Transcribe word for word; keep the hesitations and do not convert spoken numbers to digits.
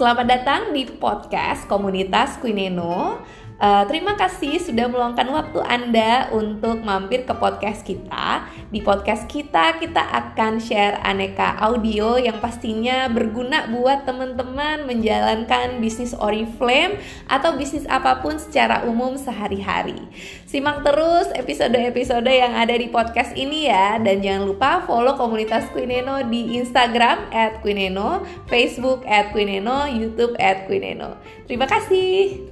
Selamat datang di podcast komunitas Queeneno. Uh, terima kasih sudah meluangkan waktu Anda untuk mampir ke podcast kita. Di podcast kita, kita akan share aneka audio yang pastinya berguna buat teman-teman menjalankan bisnis Oriflame atau bisnis apapun secara umum sehari-hari. Simak terus episode-episode yang ada di podcast ini ya. Dan jangan lupa follow komunitas Queeneno di Instagram at Queeneno, Facebook at Queeneno, YouTube at Queeneno. Terima kasih.